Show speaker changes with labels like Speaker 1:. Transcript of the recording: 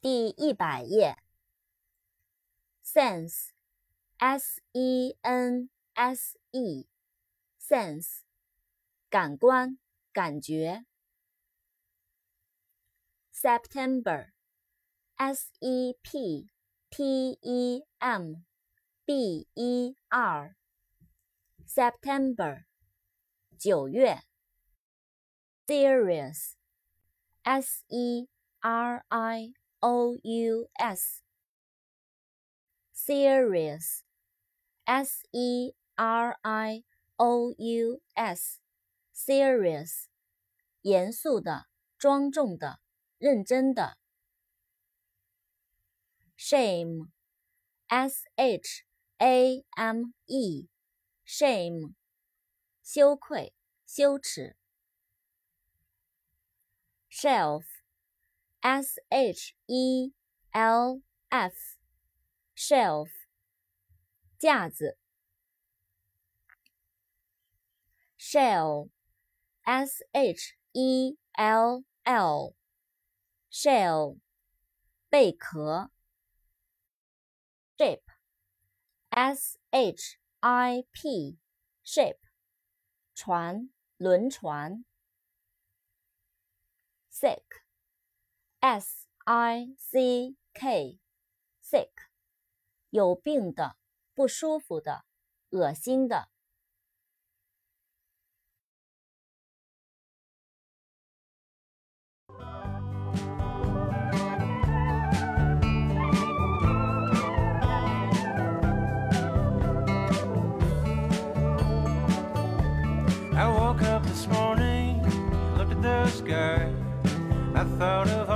Speaker 1: 第100页。sense, S-E-N-S-E, sense, 感官、感觉。September, S-E-P-T-E-M-B-E-R, September, 9月。Serious, S-E-R-I-O-U-S, serious, S-E-R-I-O-U-S, serious, 严肃的、庄重的、认真的。Shame, S-H-A-M-E, shame, 羞愧、羞耻。Shelf, S-H-E-L-F, shelf, 架子。Shell, S-H-E-L-L, shell, 贝壳。Ship, S-H-I-P, ship, 船、轮船。Sick, S-I-C-K, sick, 有病的、不舒服的、恶心的。
Speaker 2: I woke up this morning, looked at the sky. I thought of